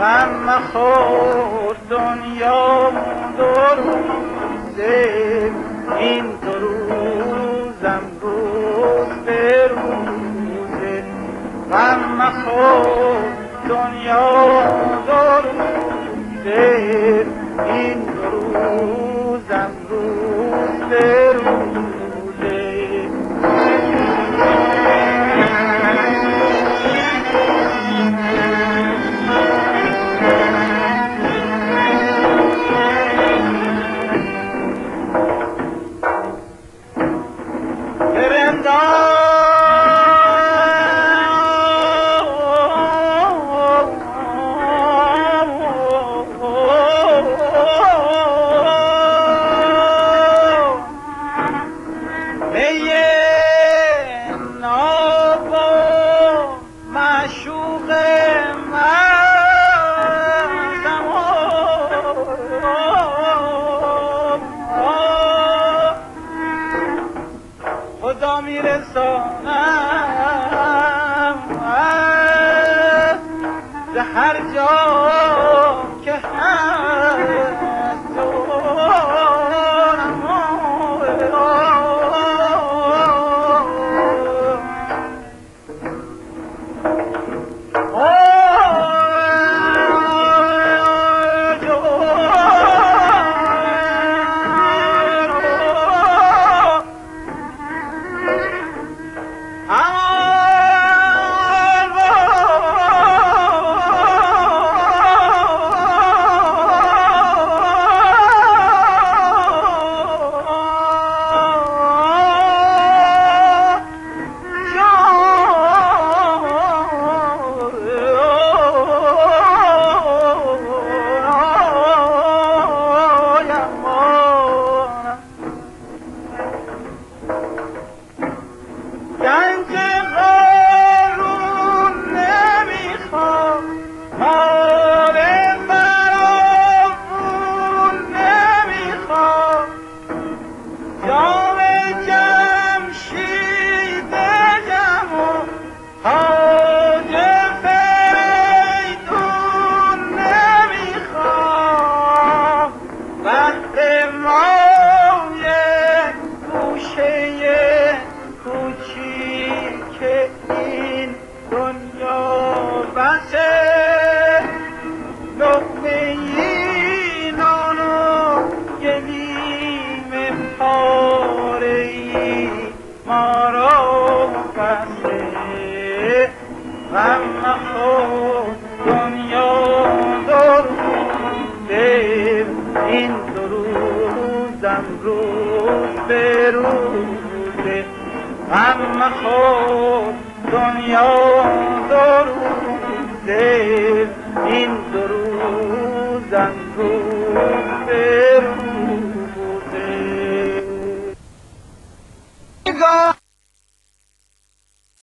غم مخور دنیا دو روزه، این دو روزم روز به روزه. غم مخور دنیا دو روزه، این دو روزم روز به روزه. خدا میرسانم به هر جا که هست جانم. غم مخور دنیا دو روزه، این دو روزم روز به روزه. غم مخور دنیا دو روزه، این دو روزم روز به